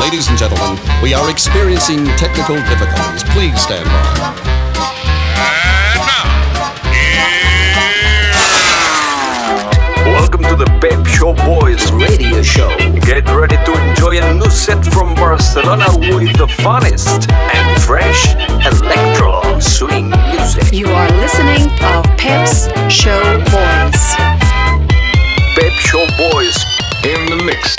Ladies and gentlemen, we are experiencing technical difficulties. Please stand by. Welcome to the Pep Show Boys radio show. Get ready to enjoy a new set from Barcelona with the funnest and fresh electro swing music. You are listening to Pep's Show Boys. Pep Show Boys in the mix.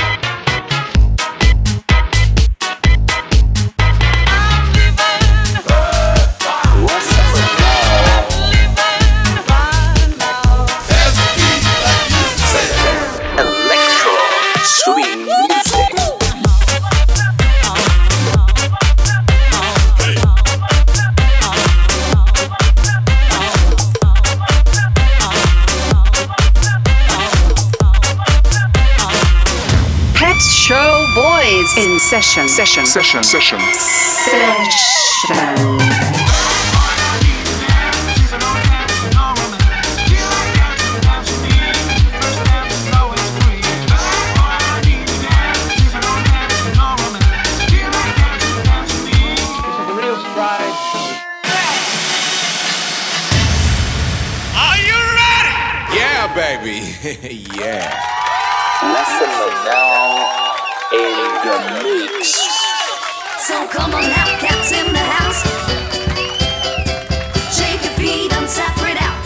In session. Are you ready? Yeah, baby. Yeah. Listen now. In the mix. So come on now, cats in the house. Shake your feet and separate out.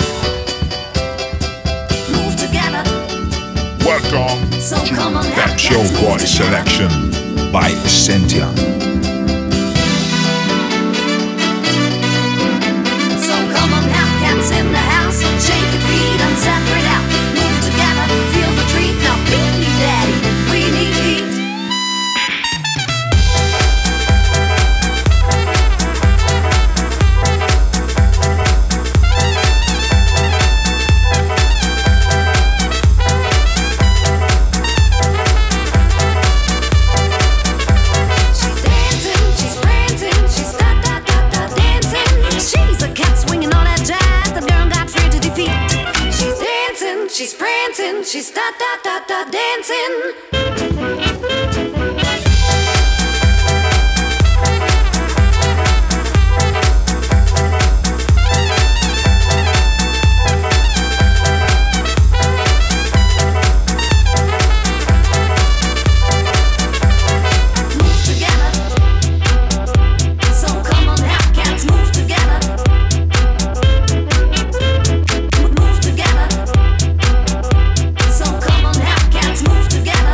Move together. Welcome So to come on now, Pep Show cats, move Boys together. selection by Cynthia. So come on now, cats in the house. Shake your feet and separate out. Move together, feel the treat. Now beat me, daddy. We need heat. She's prancing, she's dancing. Move together. So come on now, cats, move together. Move together. So come on now, cats, move together.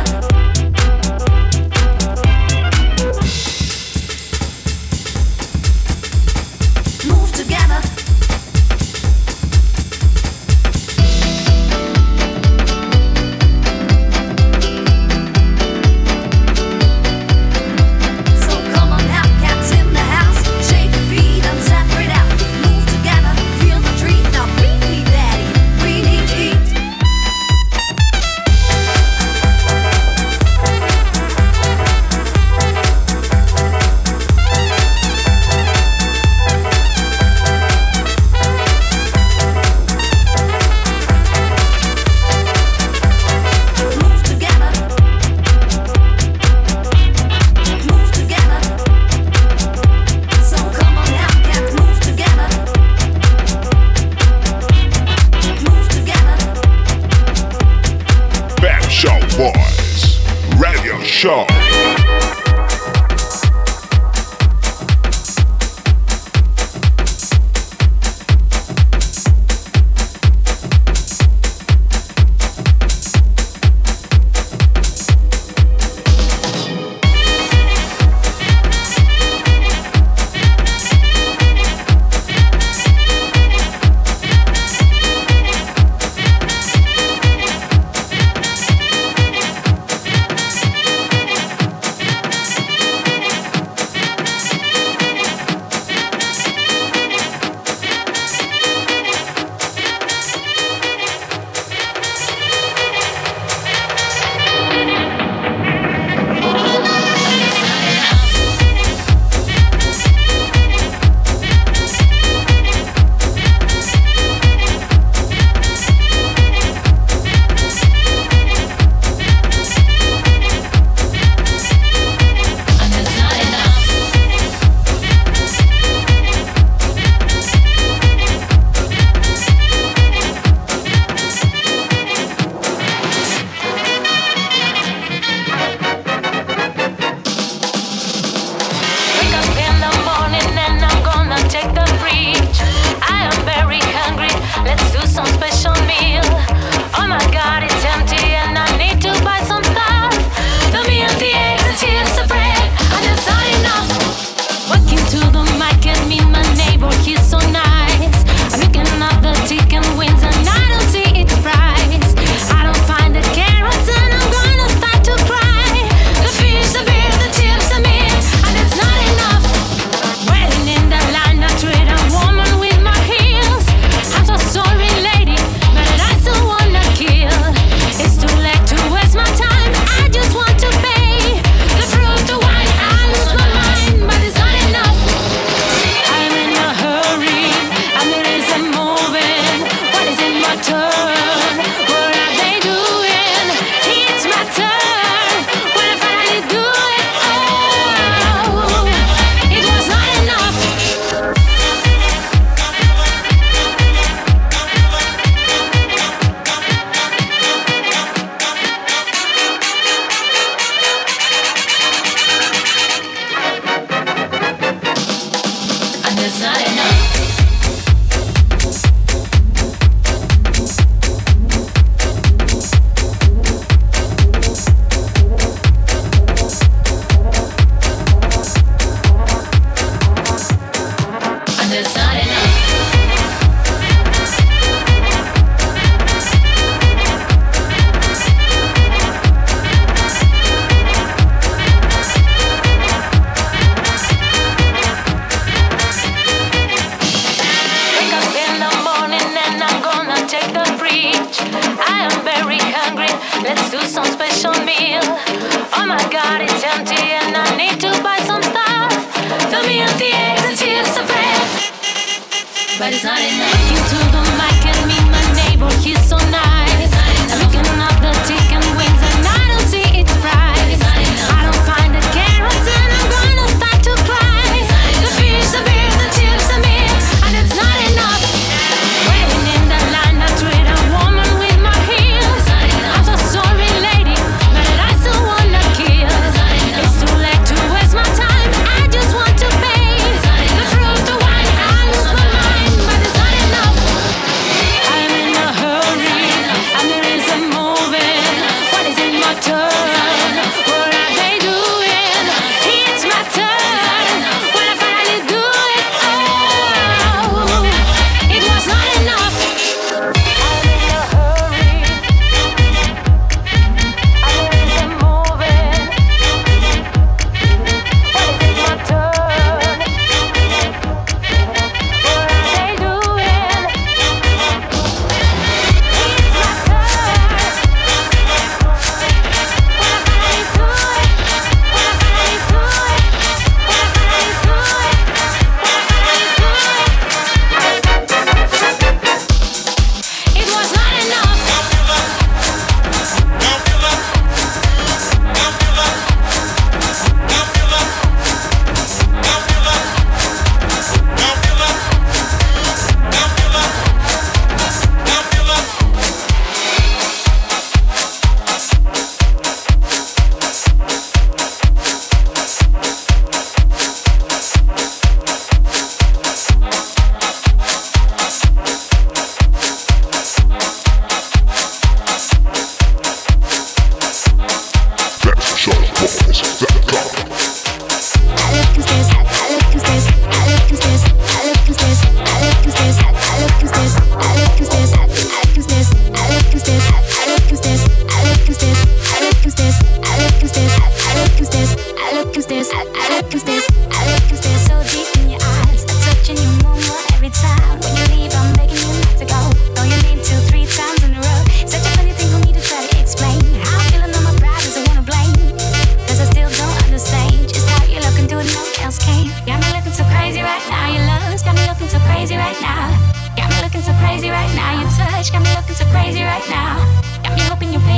Move together. So come on now, cats in the house. Shake your feet and separate out. Move together, feel the treat. Now beat me, daddy. We need heat. Move together. Move together. So come on now, cats, move together. Move together. Pep Show Boys radio show.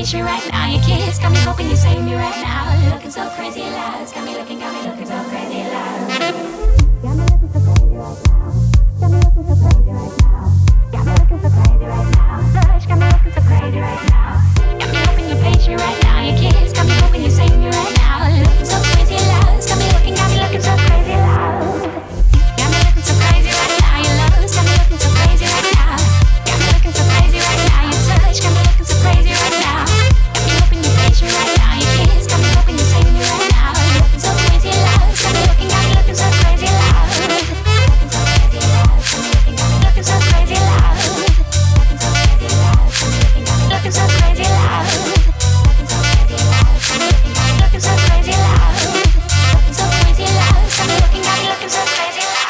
patient right now. Your kiss got me hoping you save me right now. Looking so crazy loud, got me looking so crazy loud. Got me looking so crazy right now. Got me looking so crazy right now. Got me looking so crazy right now. Lush, got me looking so crazy right now. Got me hoping you're patient right now. Your kiss got me hoping you save me right now. Looking so crazy loud, got me looking so crazy loud. Got me looking so crazy right now. Your love got me looking so crazy right now. Got me looking so crazy right now. Your touch got me looking so crazy right now. Got me hoping you're patient right now. Your kiss got me hoping you save me right now. Looking so crazy loud, got me looking so crazy loud. Looking so crazy loud, got me looking so crazy loud. Looking so crazy loud, got me looking so crazy loud. Looking so crazy loud, got me looking so crazy loud. Looking so crazy loud, got me looking so crazy loud.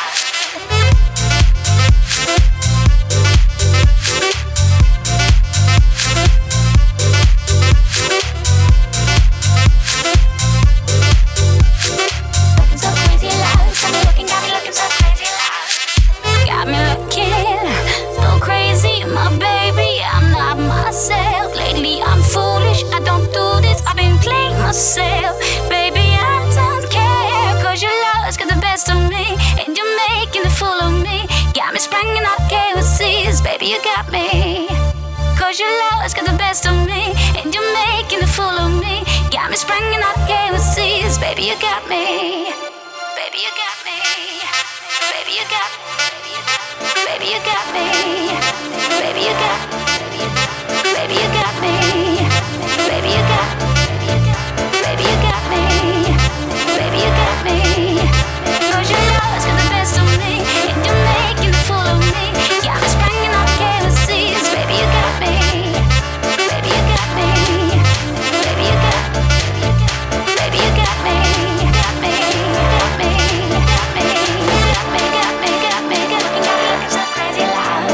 Myself, baby, I don't care, 'cause your love's got the best of me, and you're making a fool of me. Got me spranging out KOCs, baby, you got me. 'Cause your love's got the best of me, and you're making a fool of me. Got me spranging out KOCs, baby, you got me. Baby, you got me. Baby, you got me. Baby, you got me. Baby, you got me. Baby, you got me. Baby, you got me. Baby, you got me. Baby, you got me. 'Cause your love's got the best of me, and you're making a fool of me. Got me spranging out KOCs, baby, you got me. Baby, you got me. Baby, you got me. Baby, you got me. Got me. Got me. Got me. Got me. Got me. Got me. Got me. Looking so crazy loud.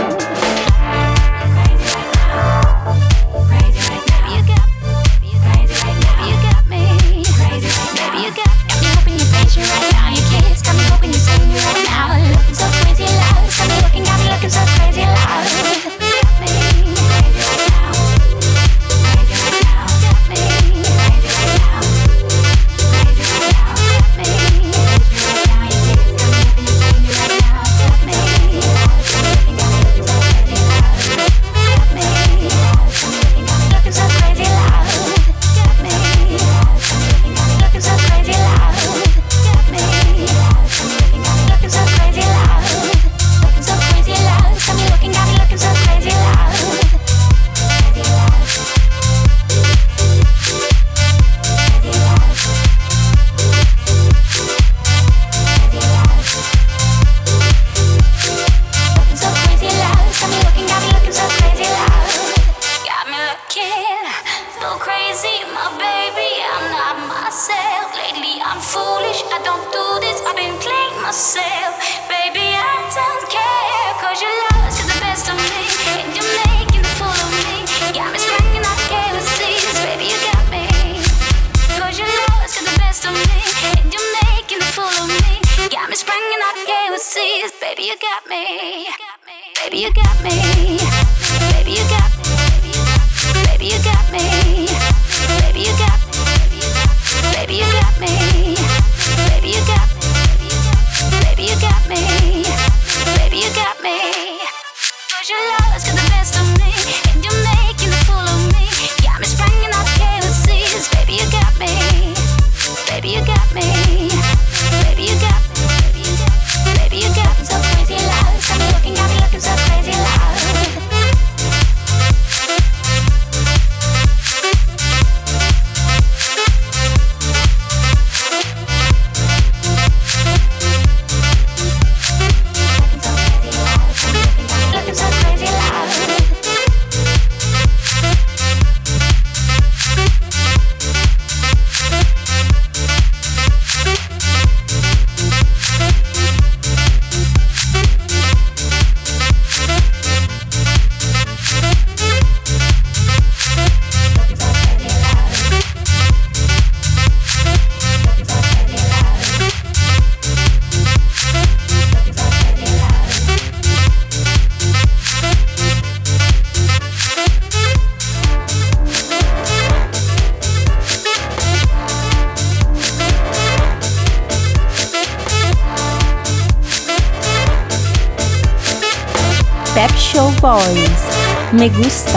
Crazy right now. Crazy right now. Baby, you got me. Crazy right now. Baby, you got me. Crazy right now. Baby, you got me hoping you're patient right now. Your kiss got me hoping you save me right now. Looking so crazy loud. Got me looking so crazy loud. Got me crazy right now. Crazy right now. Got me crazy right now. Crazy right now. Got me crazy right now. Your kiss got me hoping you save me right now. Got me looking so crazy loud. Got me looking so crazy loud. Got me looking so crazy loud. Got me looking so crazy loud. Looking so crazy loud. Got me looking so crazy loud. Crazy loud. Crazy loud. Crazy loud. Looking so crazy loud. Got me looking so crazy loud. Got me looking so crazy, my baby. I'm not myself. Lately I'm foolish. I don't do this. I've been playing myself. Baby, I don't care, 'cause your love's got the best of me, and you're making a fool of me. Got me spranging out KOCs, baby, you got me. 'Cause your love's got the best of me, and you're making a fool of me. Got me spranging out KOCs, baby, you got me. Baby, you got me. Baby, you got me. Baby, you got me. Baby, you got me. Baby, you got me. Baby, you got me. Baby, you got me. Baby, you got me. 'Cause your love's got the best of me, and you're making a fool of me. Got me spranging out KOCs, baby, you got me. Baby, you got me. Baby, you got me. Baby, you got me so crazy loud. Got me looking so crazy loud. Pep Show Boys. Me gusta.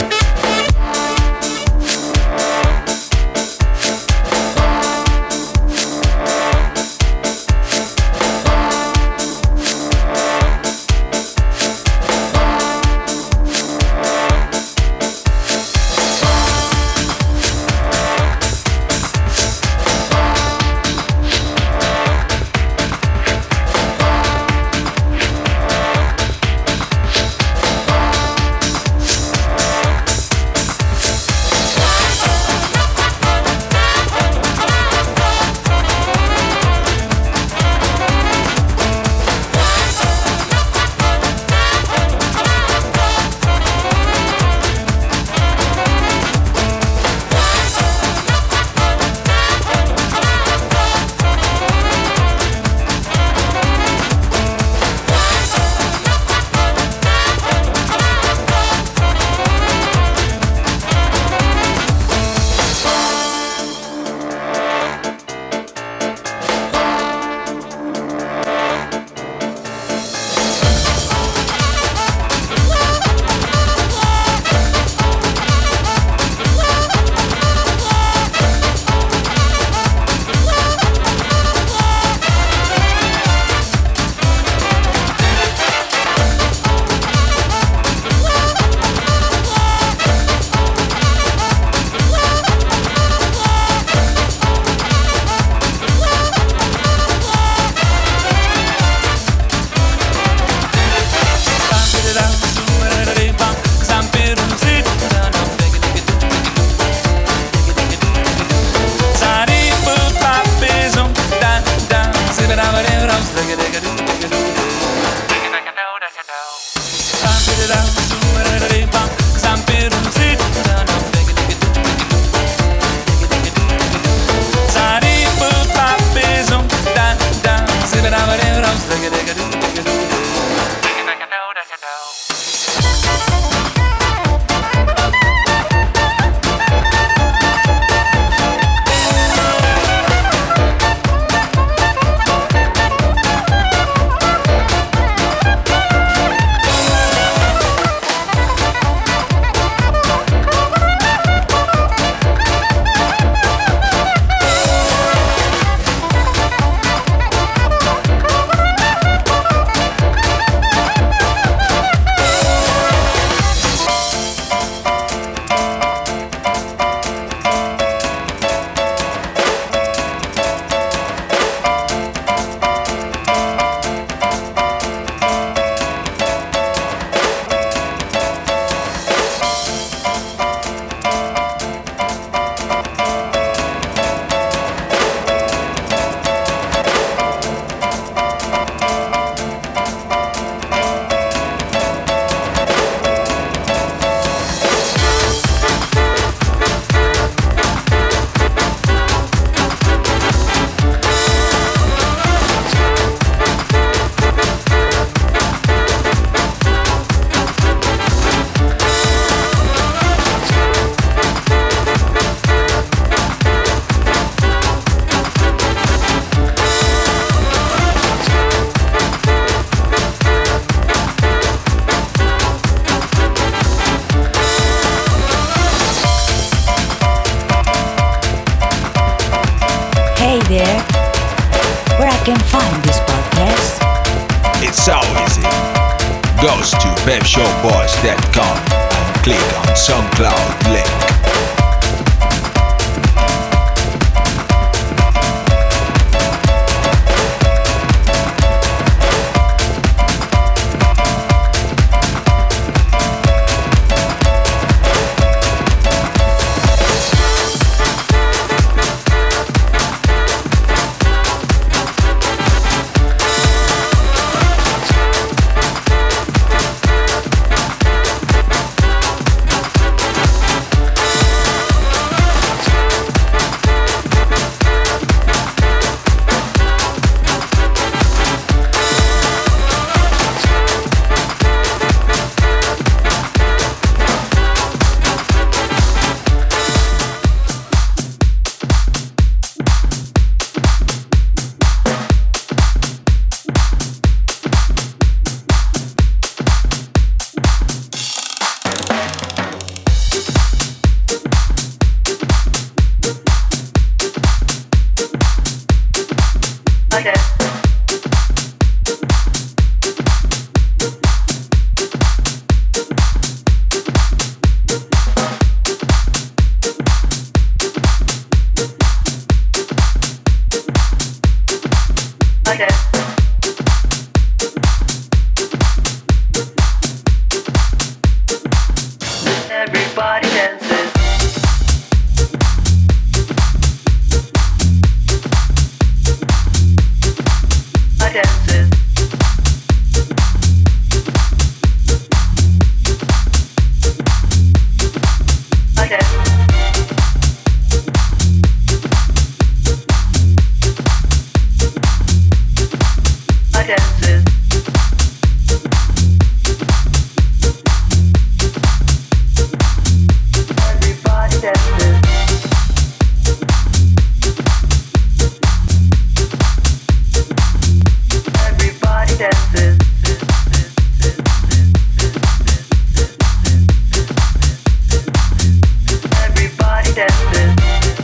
There, where I can find this podcast? It's so easy. Goes to pepshowboys.com and click on SoundCloud link. Everybody dances. I dances. I dance. I dances. Everybody dances. Everybody dances. Everybody dances.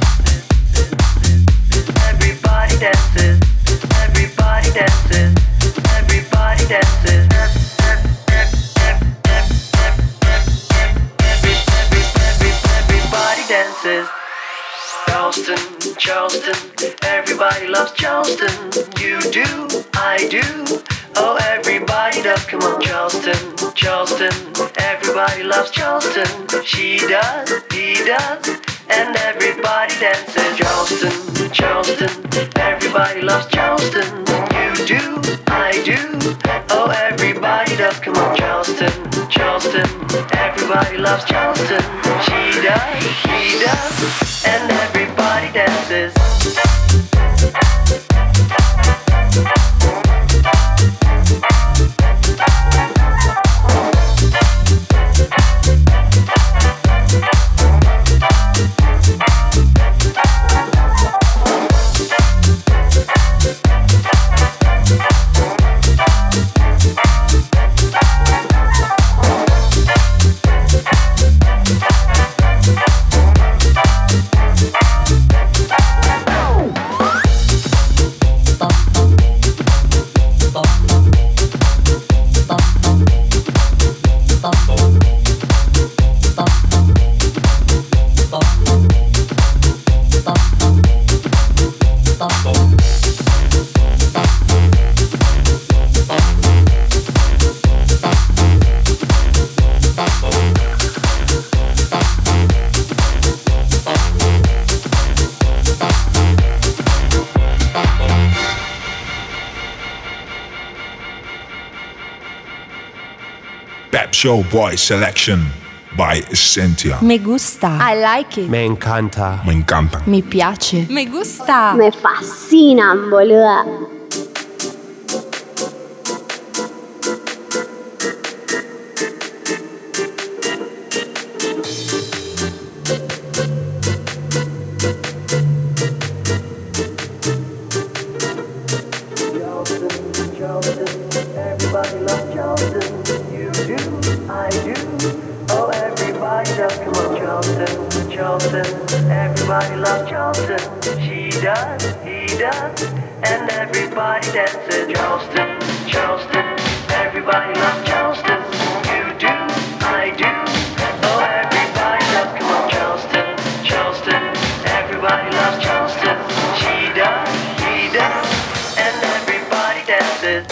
Everybody dances. Everybody dances. Everybody dances. Everybody dances. Charleston, Charleston, everybody loves Charleston. You do, I do. Oh, everybody does. Come on, Charleston, Charleston, everybody loves Charleston. She does, he does, and everybody dances. Charleston, Charleston, everybody loves Charleston. You do, I do. Oh, everybody does. Come on, Charleston, Charleston, everybody loves Charleston. She does, he does, and everybody dances. Pep Show Boy Selection by Essentia. Me gusta. I like it. Me encanta. Me encanta. Mi piace. Me gusta. Me fascinan, boluda. Everybody loves Charleston. You do, I do. Oh, everybody does. Come on, Charleston, Charleston. Everybody loves Charleston. She does, he does, and everybody dances. Charleston, Charleston. Everybody loves Charleston. You do, I do. Oh, everybody does. Come on, Charleston, Charleston. Everybody loves Charleston. She does, he does, and everybody dances.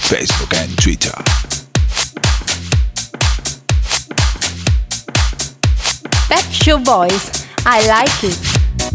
Facebook and Twitter. Pet Show Boys, I like it.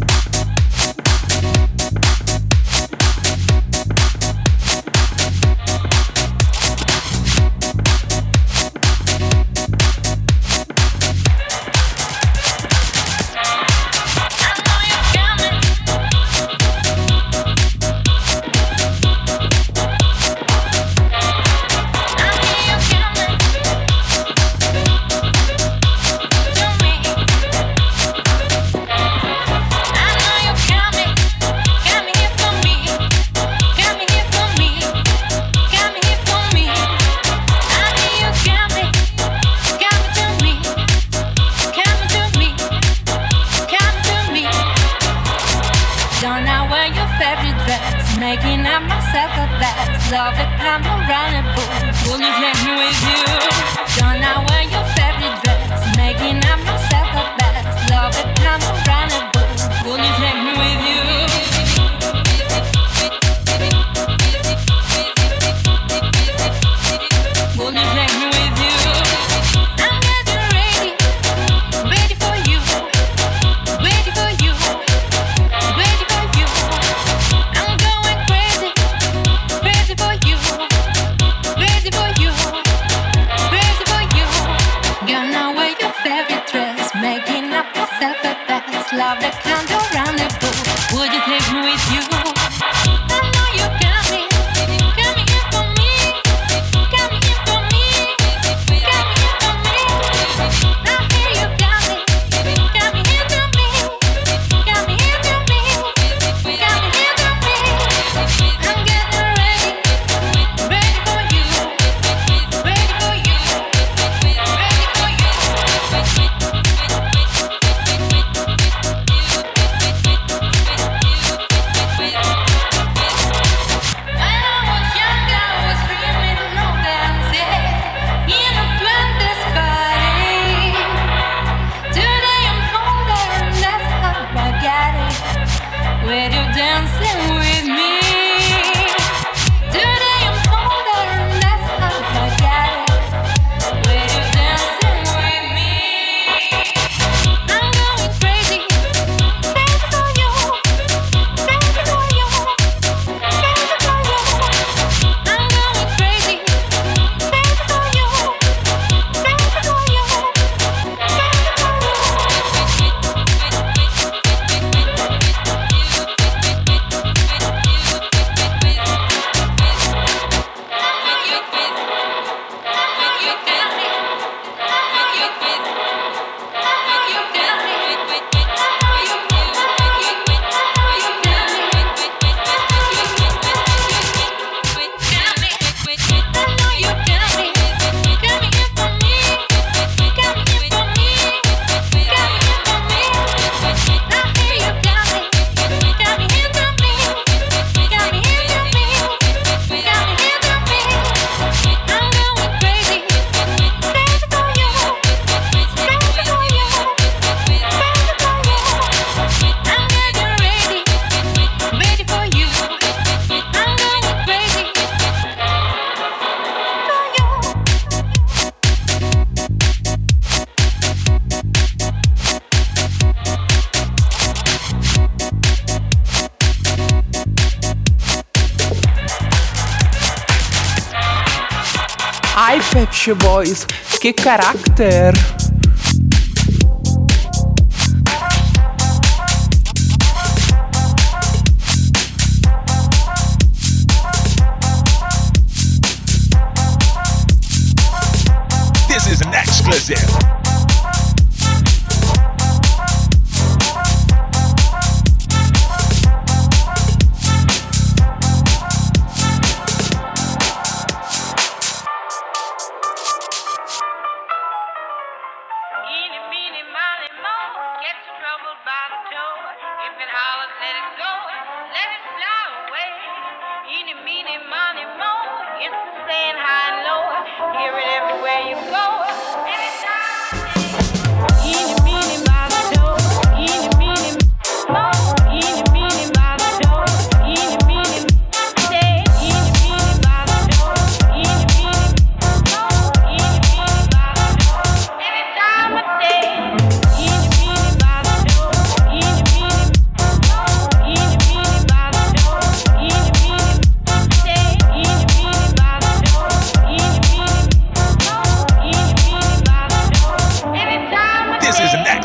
Love it, I'm around and boom. Will you take me with you? Don't I wear your favorite dress? Making up myself a best. Love it, I'm around and boom. Will you take me with you? Will you take me with you? I'm getting ready, ready for you, ready for you, ready for you. I'm going crazy. Ready for you, ready for you, ready for you. Gonna wear your favorite dress, making up myself a best. Love the kind of rendezvous. Would you take me with you? I know you got me, got me here for me, got me here for me, got me here for me. I hear you got me here for me, got me here for me, got me here for me. I'm getting ready. Ready for you, ready for you, ready for you. When I was young, I was dreaming of dancing in a twenties party. Today I'm older and that's how I got it. With you dancing with me. Today I'm older and that's how I got it. With you dancing with me. I'm going crazy, crazy for you, crazy for you, crazy for you. I'm going crazy, crazy for you, crazy for you, Ai, Pet Shop Boys, che carattere! This is an exclusive.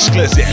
exclusive.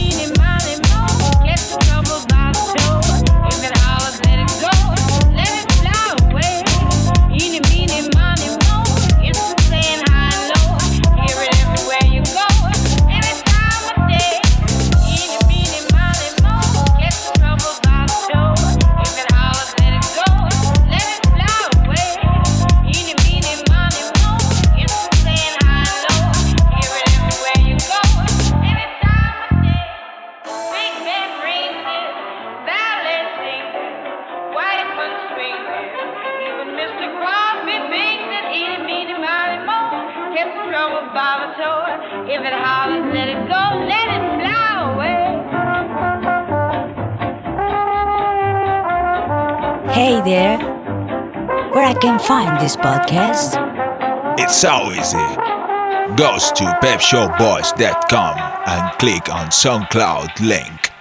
If it hollers, let it go, let it fly away. Hey there, where I can find this podcast? It's so easy. Goes to pepshowboys.com and click on SoundCloud link.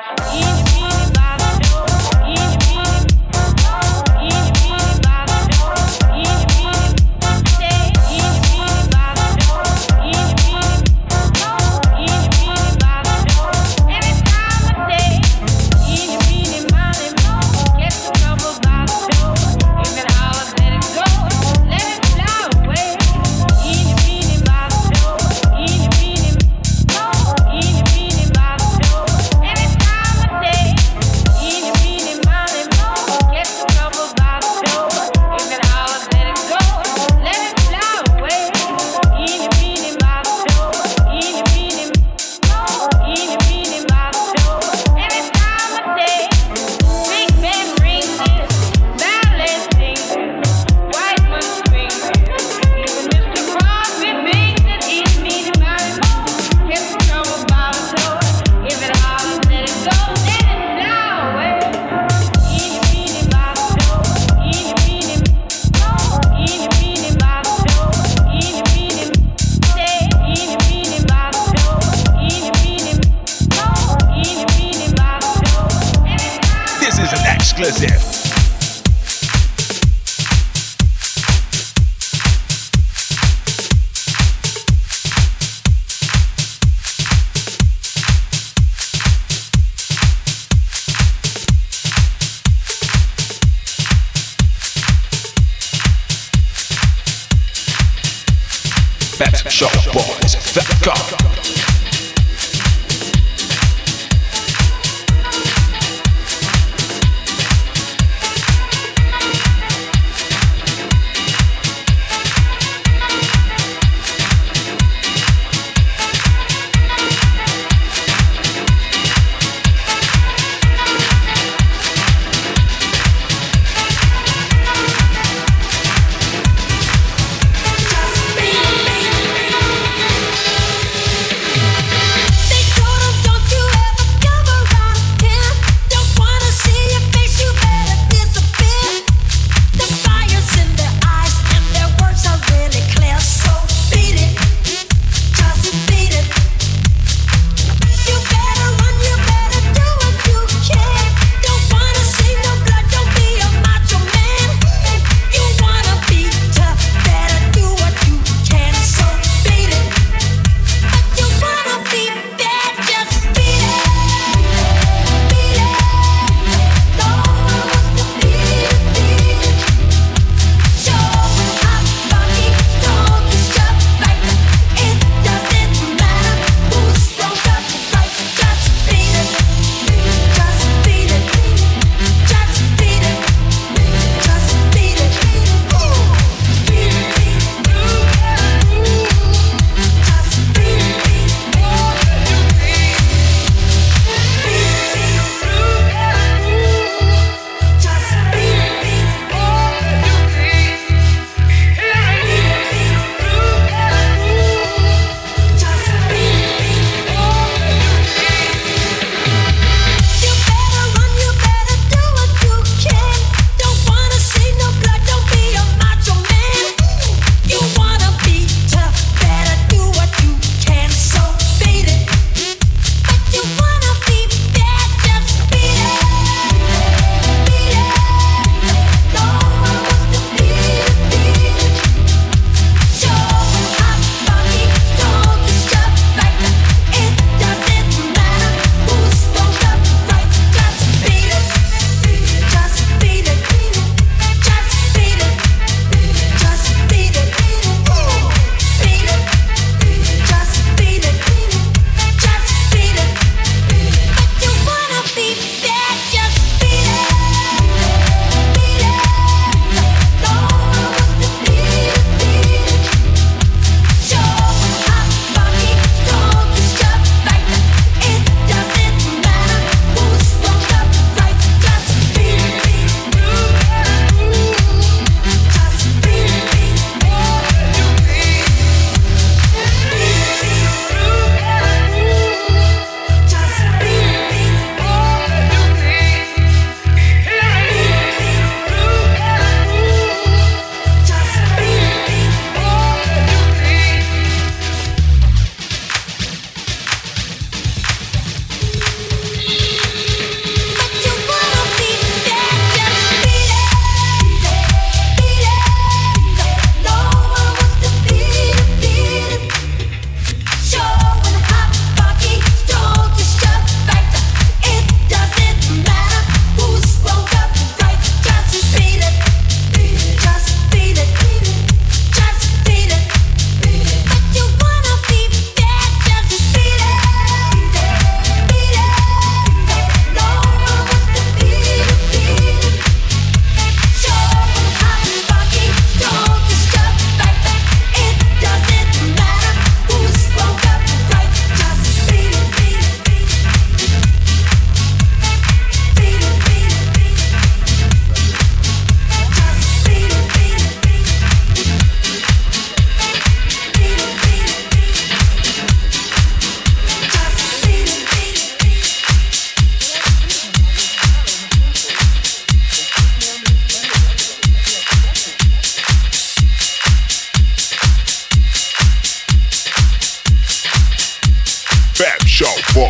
PetShowBoys.com.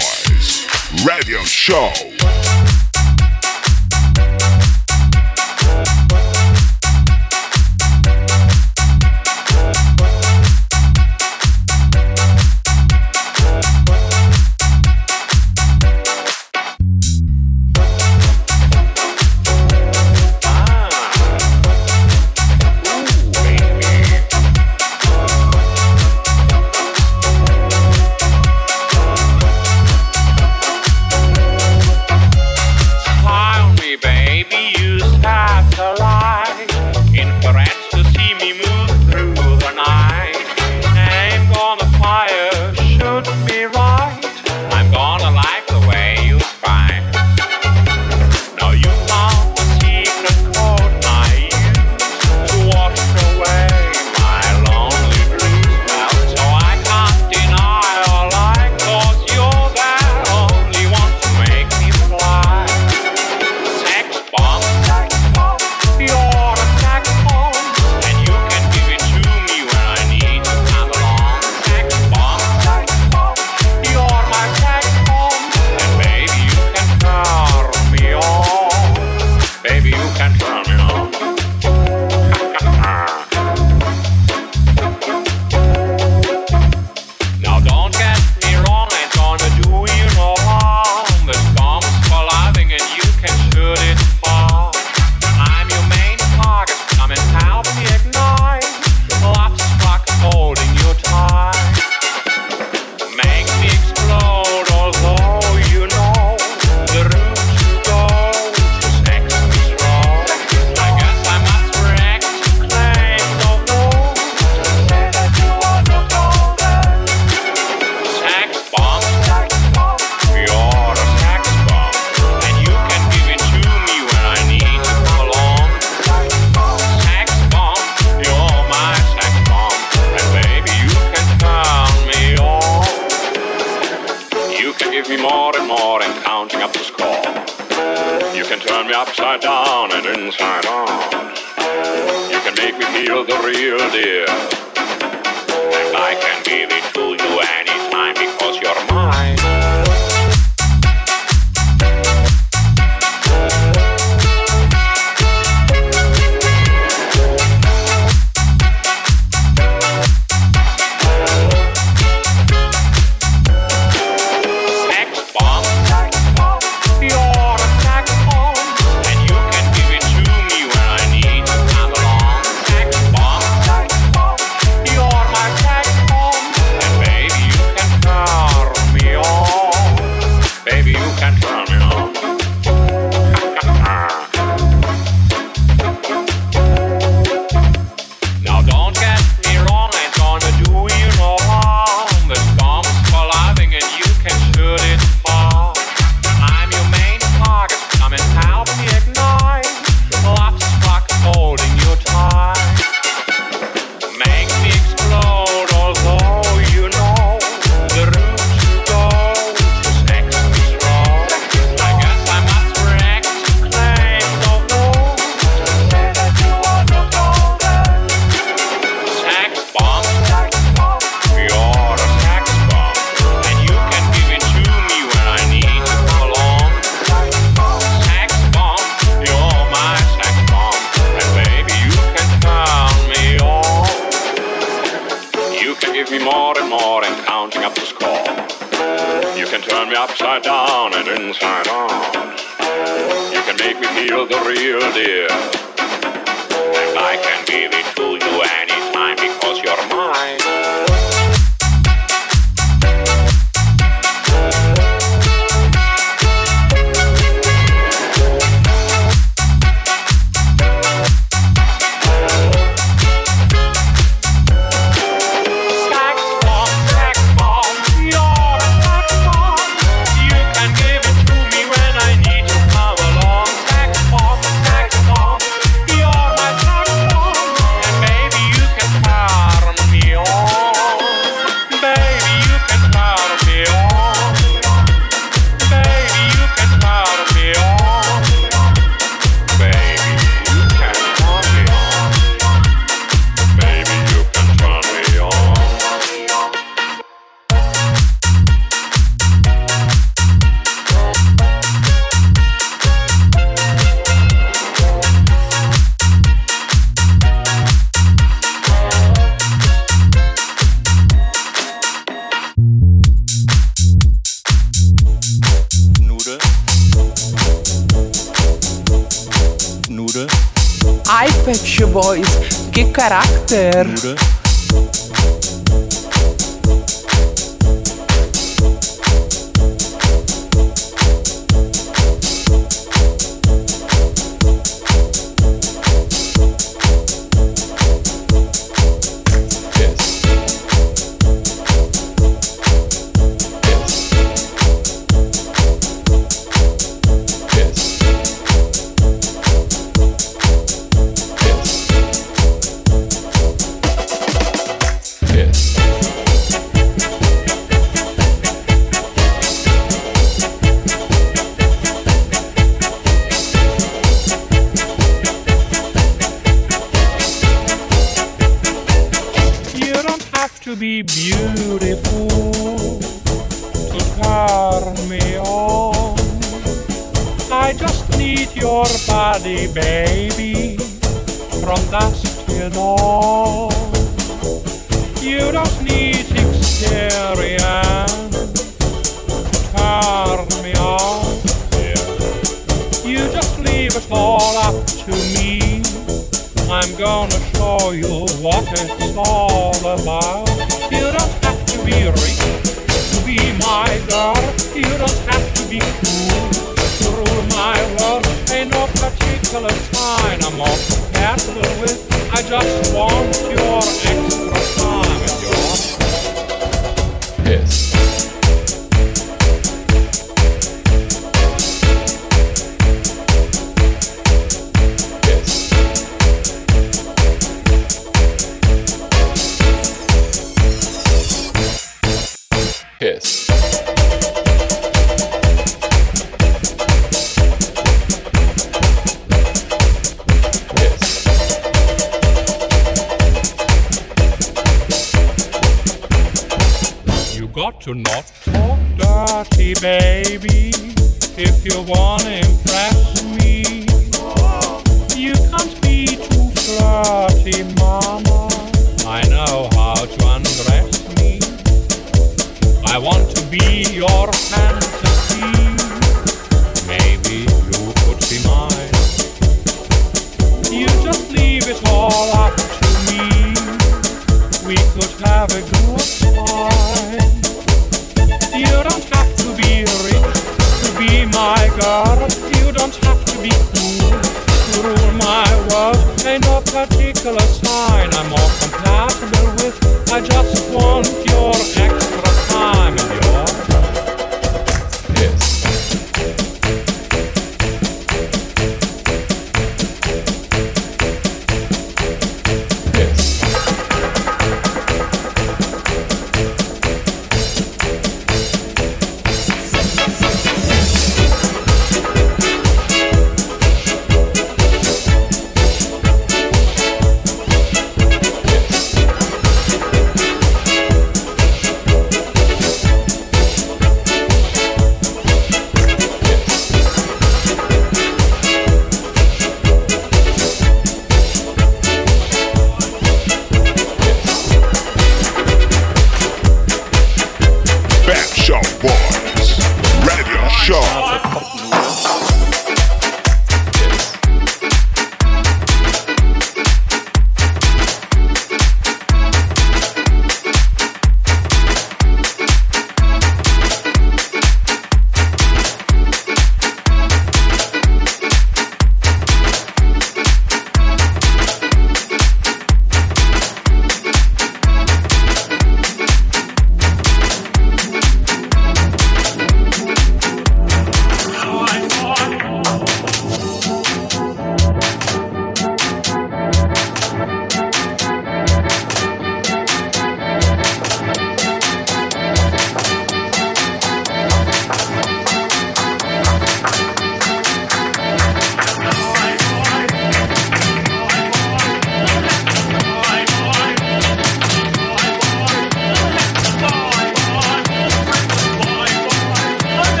Boys Radio Show. You're Ai, Pet Shop Boys, che carattere! To be beautiful, to turn me on. I just need your body, baby, from dusk till dawn. You don't need experience to turn me on. You just leave it all up to me. I'm gonna show you what it's all about. You don't have to be rich to be my girl. You don't have to be cool to rule my world. Ain't no particular sign I'm more compatible with. I just want your extra time and your piss. Piss. You got to not talk dirty, baby, if you wanna impress me. You can't be too flirty, mama. I know how to undress me. I want to be your fantasy. Maybe you could be mine. You just leave it all up to me. We could have a good time. You don't have to be rich to be my girl. You don't have to be cool to rule my world. Ain't no particular sign I'm more compatible with. I just want your extra time and your piss.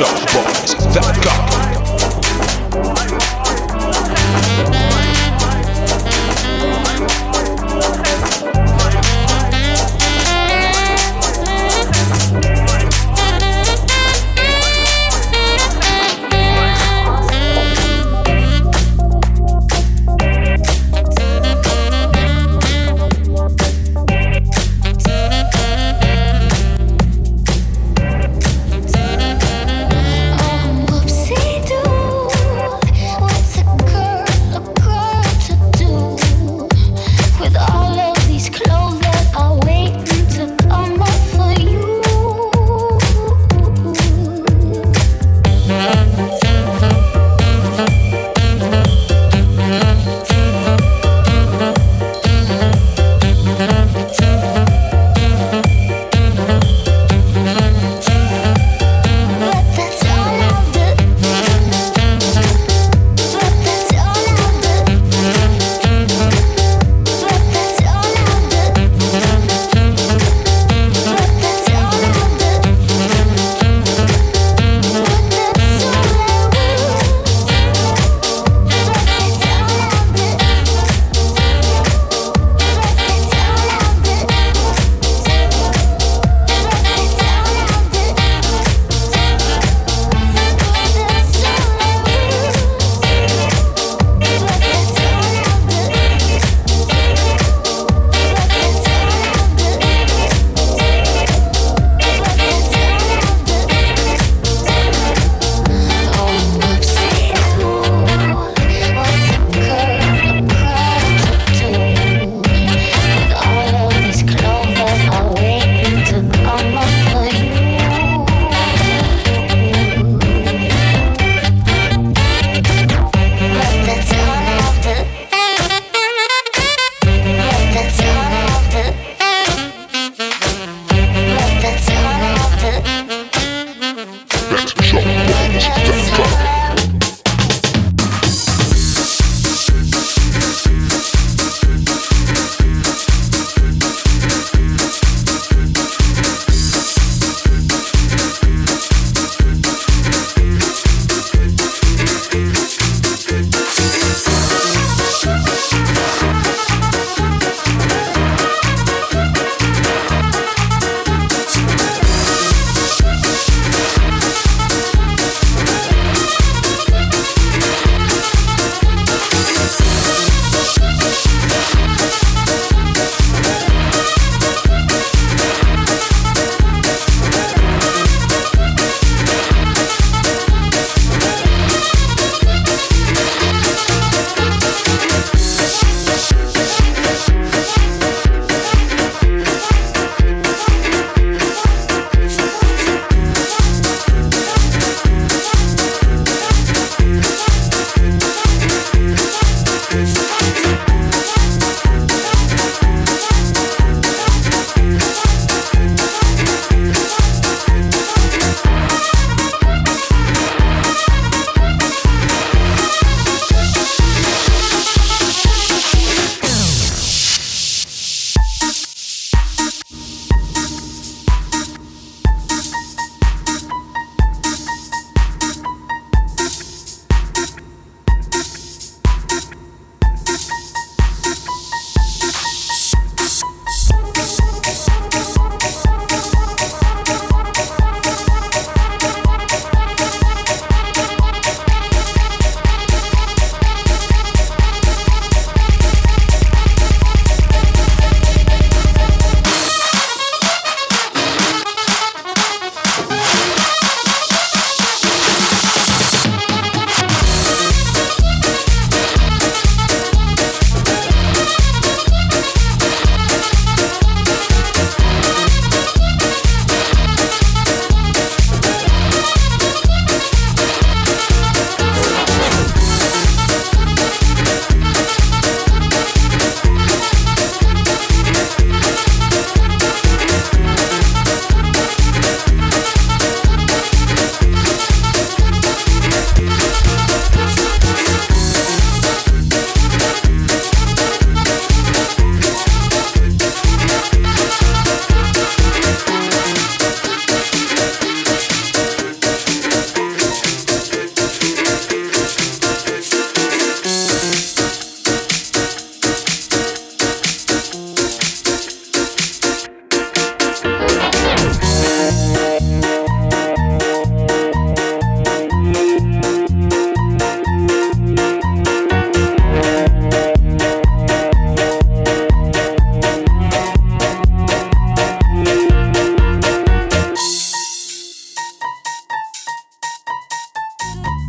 PepShowBoys.com.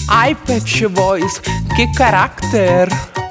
Ai Pet Shop Boys, che carattere!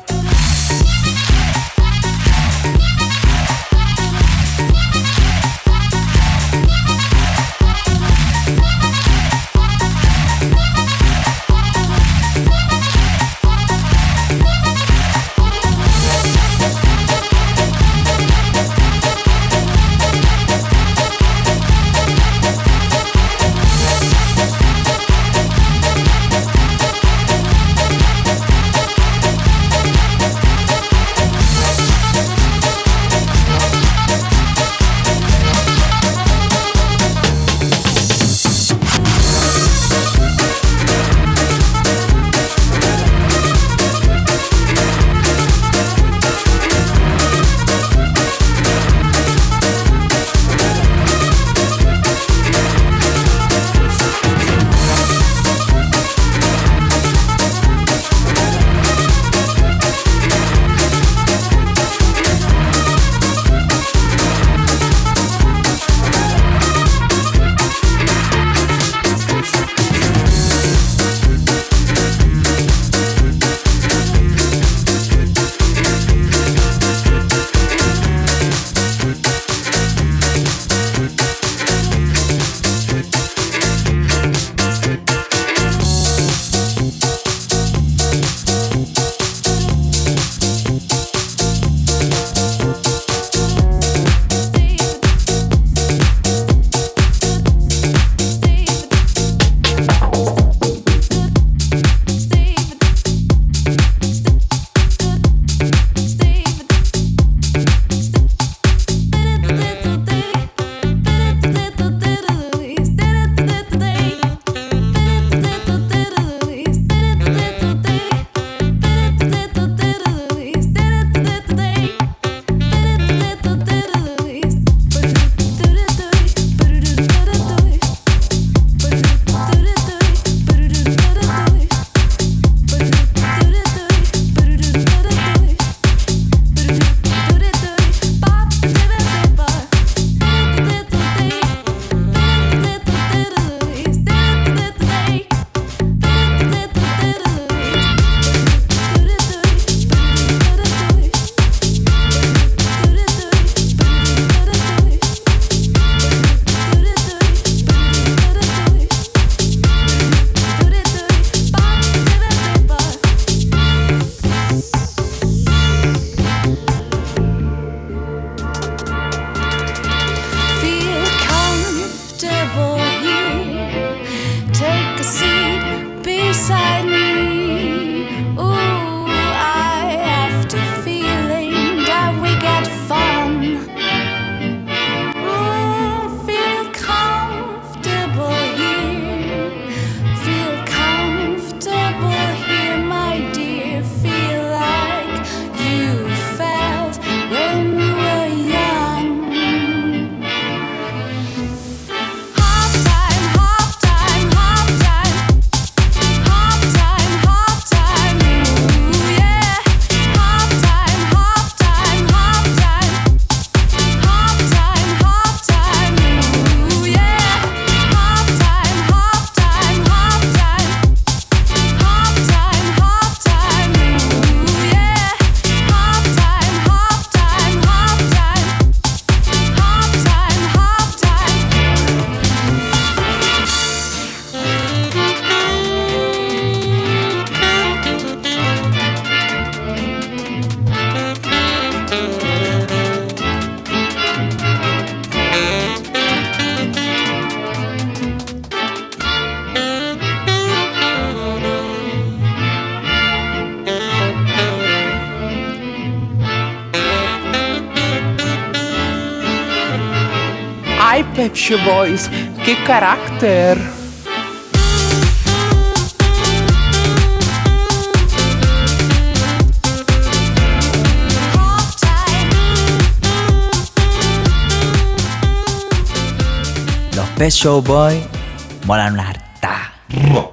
Ai Pet Shop Boys, che carattere! Los Pet Shop Boys molan una harta.